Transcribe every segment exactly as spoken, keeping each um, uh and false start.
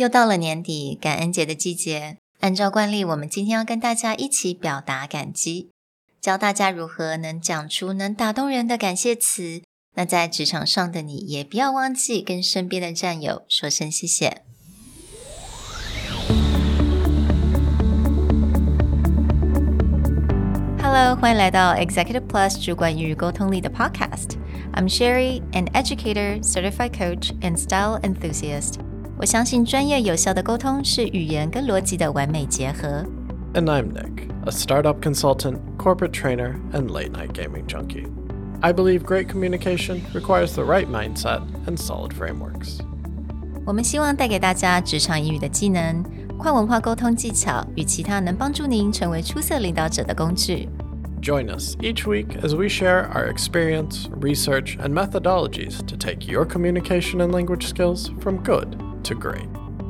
又到了年底，感恩節的季節。按照慣例，我們今天要跟大家一起表達感激，教大家如何能講出能打動人的感謝詞。那在職場上的你，也不要忘記跟身邊的戰友說聲謝謝。Hello， 歡迎來到 Executive Plus 主管與溝通力的 Podcast。I'm Sherry, an educator, certified coach, and style enthusiast. 我相信專業有效的溝通是語言跟邏輯的完美結合。 And I'm Nick, a startup consultant, corporate trainer, and late-night gaming junkie. I believe great communication requires the right mindset and solid frameworks. 我們希望帶給大家職場英語的技能、跨文化溝通技巧與其他能幫助您成為出色領導者的工具。 Join us each week as we share our experience, research, and methodologies to take your communication and language skills from good to great.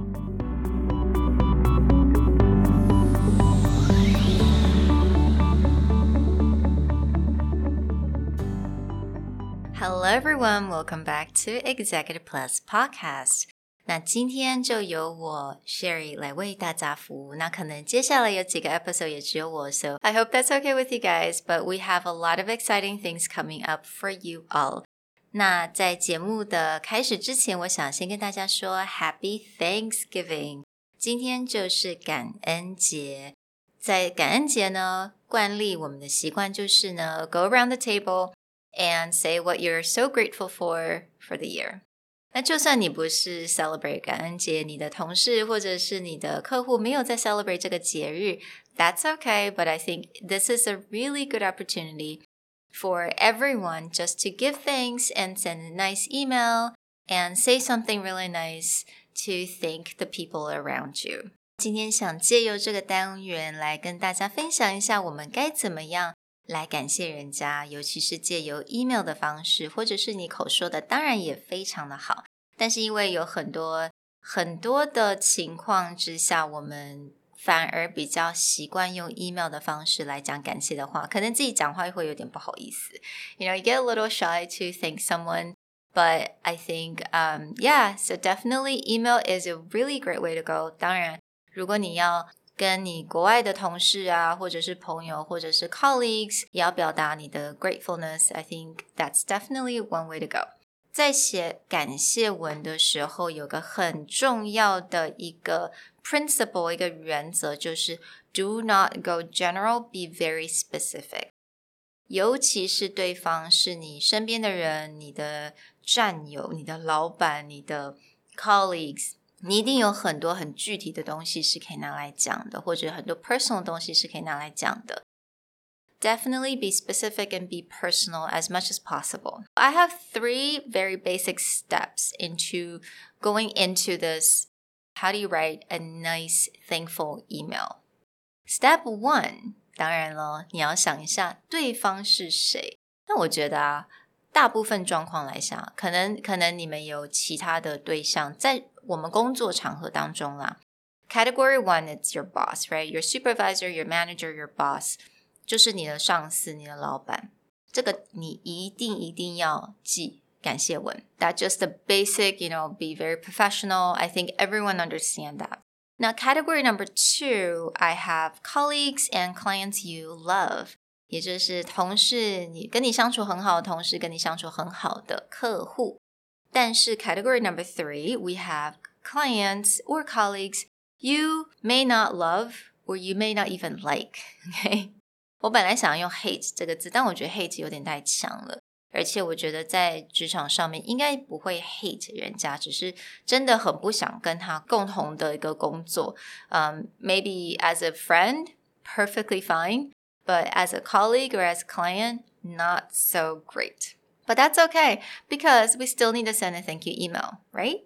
Hello everyone, welcome back to Executive Plus Podcast. 那今天就由我 Sherry 來為大家服務。那可能接下來有幾個 episode 也只有我 So I hope that's okay with you guys, but we have a lot of exciting things coming up for you all. 那在節目的開始之前，我想先跟大家說 Happy Thanksgiving。今天就是感恩節。在感恩節呢，慣例我們的習慣就是呢 Go around the table and say what you're so grateful for for the year. 那就算你不是 celebrate 感恩節，你的同事或者是你的客戶沒有在 celebrate 這個節日 That's okay, but I think this is a really good opportunity for everyone just to give thanks and send a nice email and say something really nice to thank the people around you. 今天想借由這個單元來跟大家分享一下我們該怎麼樣來感謝人家，尤其是借由 email 的方式，或者是你口說的，當然也非常的好。但是因為有很多很多的情況之下，我們反而比較習慣用 email 的方式來講感謝的話，可能自己講話會有點不好意思。You know, you get a little shy to thank someone, but I think, um, yeah, so definitely email is a really great way to go. 當然，如果你要跟你國外的同事啊，或者是朋友，或者是 colleagues， 也要表達你的 gratefulness, I think that's definitely one way to go. 在寫感謝文的時候，有個很重要的一個 principle, 一個原則，就是 do not go general, be very specific. 尤其是對方是你身邊的人，你的戰友，你的老闆，你的 colleagues， 你一定有很多很具體的東西是可以拿來講的，或者很多 personal 的東西是可以拿來講的。Definitely be specific and be personal as much as possible. I have three very basic steps into going into this. How do you write a nice, thankful email? Step one, 當然了，你要想一下對方是誰。那我覺得啊，大部分狀況來想，可能可能你們有其他的對象，在我們工作場合當中啦。Category one, it's your boss, right? Your supervisor, your manager, your boss.就是你的上司，你的老闆，這個你一定一定要記感謝文。That's just the basic, you know, be very professional. I think everyone understand that. Now, category number two, I have colleagues and clients you love. 也就是同事，你跟你相處很好的同事，跟你相處很好的客戶。但是 category number three, we have clients or colleagues you may not love or you may not even like. Okay?我本來想要用 hate 這個字，但我覺得 hate 有點太強了，而且我覺得在職場上面應該不會 hate 人家，只是真的很不想跟他共同的一個工作。Um, maybe as a friend, perfectly fine, but as a colleague or as a client, not so great. But that's okay, because we still need to send a thank you email, right?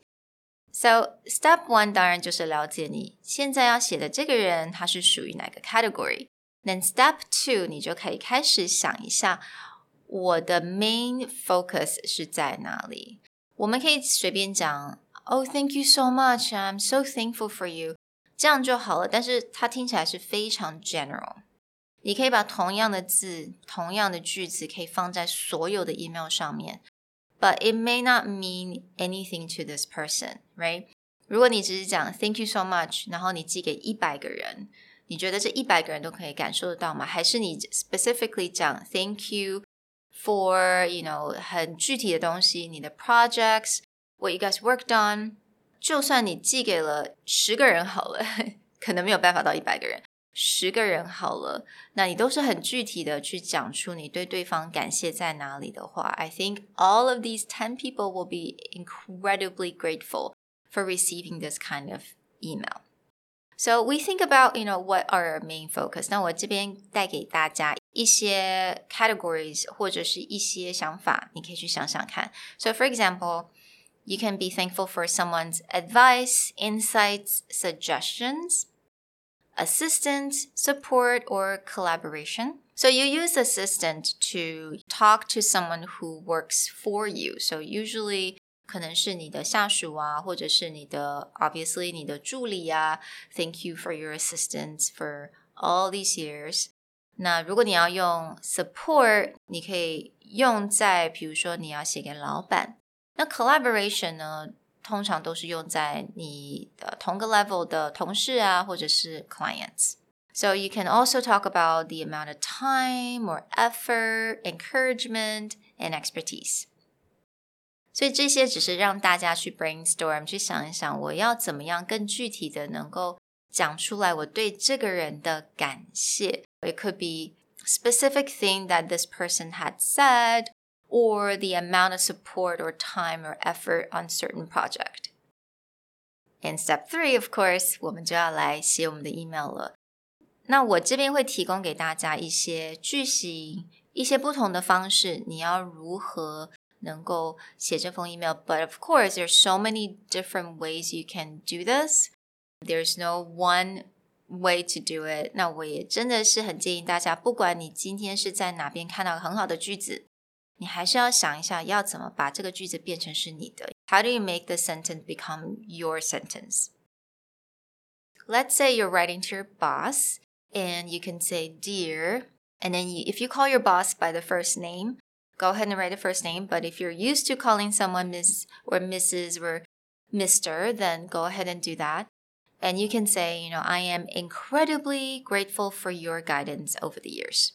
So, step one 當然就是了解你現在要寫的這個人，他是屬於哪個 category。Then step two, 你就可以開始想一下，我的 main focus 是在哪裡？我們可以隨便講 Oh, thank you so much, I'm so thankful for you 這樣就好了，但是它聽起來是非常 general。你可以把同樣的字，同樣的句子可以放在所有的 email 上面，but it may not mean anything to this person, right? 如果你只是講 Thank you so much， 然後你寄給一百個人，你覺得這一百個人都可以感受得到嗎？還是你 specifically 講 Thank you for you know 很具體的東西，你的 projects what you guys worked on， 就算你寄給了十個人好了，可能沒有辦法到一百個人，十個人好了，那你都是很具體的去講出你對對方感謝在哪裡的話， I think all of these ten people will be incredibly grateful for receiving this kind of email. So we think about, you know, what are our main focus. 那我這邊帶給大家一些 categories 或者是一些想法，你可以去想想看。So for example, you can be thankful for someone's advice, insights, suggestions, assistance, support, or collaboration. So you use assistant to talk to someone who works for you. So usually可能是你的下屬啊，或者是你的 obviously 你的助理啊 Thank you for your assistance for all these years. 那如果你要用 support, 你可以用在比如說你要寫給老闆。那 collaboration 呢，通常都是用在你的同個 level 的同事啊，或者是 clients. So you can also talk about the amount of time or effort, encouragement, and expertise. 所以這些只是讓大家去 brainstorm， 去想一想我要怎麼樣更具體的能夠講出來我對這個人的感謝。It could be specific thing that this person had said, or the amount of support or time or effort on certain project. In step three, of course, 我們就要來寫我們的 email 了。那我這邊會提供給大家一些句型，一些不同的方式，你要如何能夠寫這封 email. But of course, there's so many different ways you can do this. There's no one way to do it. 那我也真的是很建議大家，不管你今天是在哪邊看到很好的句子，你還是要想一下要怎麼把這個句子變成是你的。How do you make the sentence become your sentence? Let's say you're writing to your boss and you can say dear, and then you, if you call your boss by the first name, go ahead and write the first name. But if you're used to calling someone Miss or Missus or Mister, then go ahead and do that. And you can say, you know, I am incredibly grateful for your guidance over the years.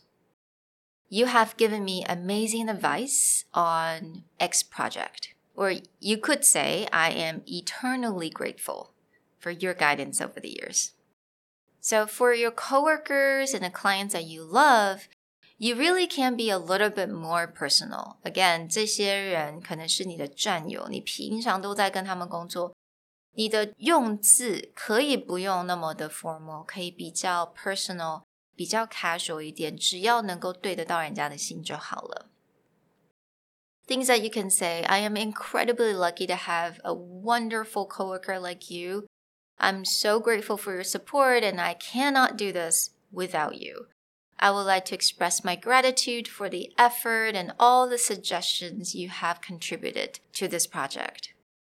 You have given me amazing advice on X project. Or you could say, I am eternally grateful for your guidance over the years. So for your coworkers and the clients that you love, you really can be a little bit more personal. Again, 這些人可能是你的戰友，你平常都在跟他們工作，你的用字可以不用那麼的 formal， 可以比較 personal， 比較 casual 一點，只要能夠對得到人家的心就好了。Things that you can say, I am incredibly lucky to have a wonderful coworker like you. I'm so grateful for your support and I cannot do this without you. I would like to express my gratitude for the effort and all the suggestions you have contributed to this project.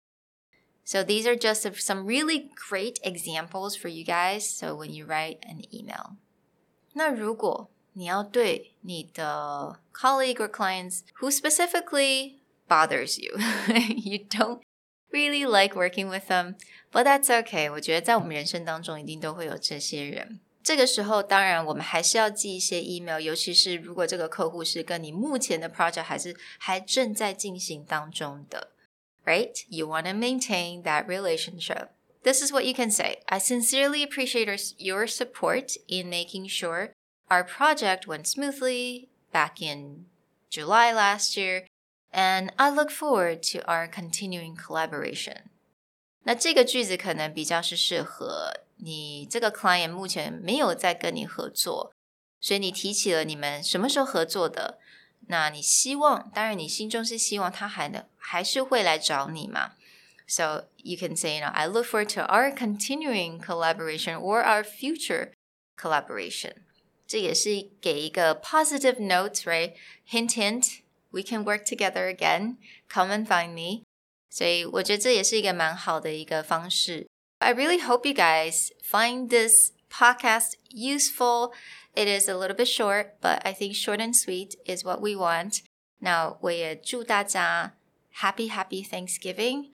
So these are just some really great examples for you guys. So when you write an email. 那如果你要對你的 colleague or clients who specifically bothers you, you don't really like working with them, but that's okay. 我覺得在我們人生當中一定都會有這些人。這個時候當然我們還是要寄一些 email， 尤其是如果這個客戶是跟你目前的 project 還是還正在進行當中的 right? You want to maintain that relationship. This is what you can say. I sincerely appreciate your support in making sure our project went smoothly back in July last year, and I look forward to our continuing collaboration. 那這個句子可能比較是適合你這個 client 目前沒有在跟你合作，所以你提起了你們什麼時候合作的，那你希望，當然你心中是希望他還能還是會來找你嘛。So you can say, you know, I look forward to our continuing collaboration or our future collaboration. 這也是給一個 positive note, right? Hint, hint, we can work together again. Come and find me. 所以我覺得這也是一個蠻好的一個方式。I really hope you guys find this podcast useful. It is a little bit short, but I think short and sweet is what we want. 那我也祝大家 Happy, Happy Thanksgiving.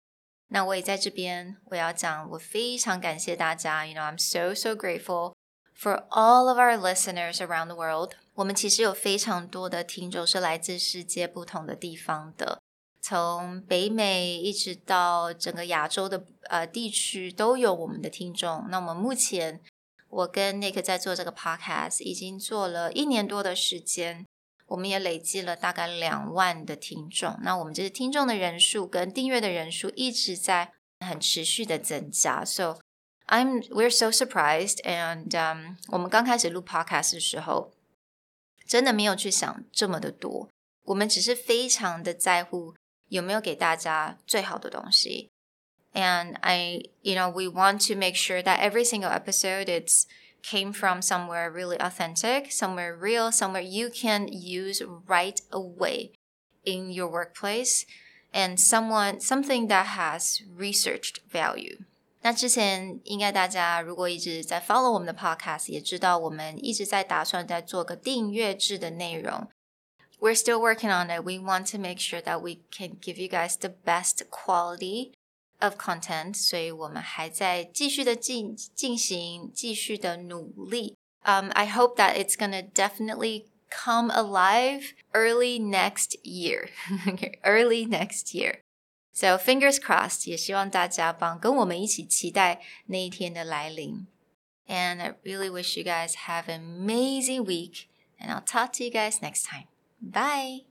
那我也在這邊，我要講，我非常感謝大家。You know, I'm so, so grateful for all of our listeners around the world. 我們其實有非常多的聽眾是來自世界不同的地方的，從北美一直到整個亞洲的呃地區都有我們的聽眾。那我們目前，我跟 Nick 在做這個 podcast 已經做了一年多的時間。我們也累積了大概兩萬的聽眾，那我們這是聽眾的人數跟訂閱的人數一直在很持續的增加。So I'm we're so surprised, and um, 我們剛開始錄 podcast 的時候，真的沒有去想這麼的多，我們只是非常的在乎有沒有給大家最好的東西。And I, you know, we want to make sure that every single episode it's came from somewhere really authentic, somewhere real, somewhere you can use right away in your workplace, and someone something that has researched value. 那之前應該大家如果一直在 follow 我們的 podcast 也知道我們一直在打算在做個訂閱制的內容。We're still working on it. We want to make sure that we can give you guys the best quality of content, 所以我們還在繼續的進進行，繼續的努力。Um, I hope that it's gonna definitely come alive early next year. Early next year. So fingers crossed. 也希望大家幫跟我們一起期待那一天的來臨。And I really wish you guys have an amazing week. And I'll talk to you guys next time. Bye.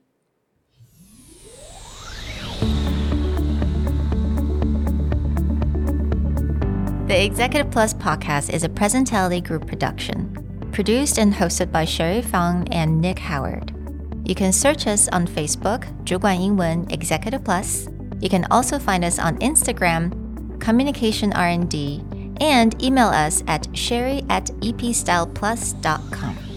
The Executive Plus podcast is a Presentality Group production, produced and hosted by Sherry Fang and Nick Howard. You can search us on Facebook, 主管英文 Executive Plus. You can also find us on Instagram, Communication R and D, and email us at sherry at epstyleplus dot com.